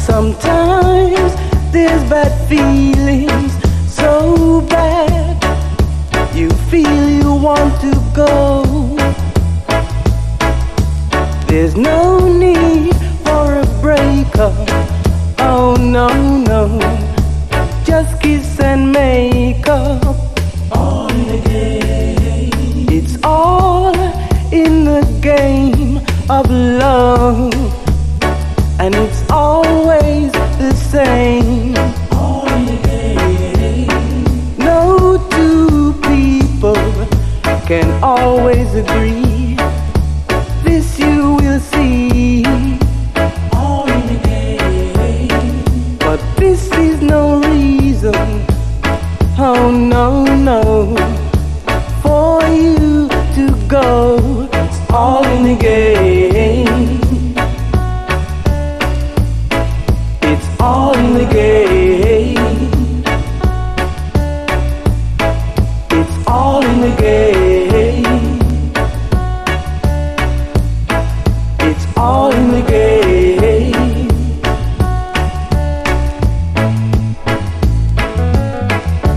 Sometimes there's bad feelings, so bad you feel you want to go. There's no need for a breakup, oh no, no. Just kiss and make up. All in the game. It's all in the game of love, and it's always the same. All in the game. No two people can always agree. This you will see. All in the game. But this is no reason, oh no, no, for you to go. It's all in the game. It's all in the game. It's all in the game.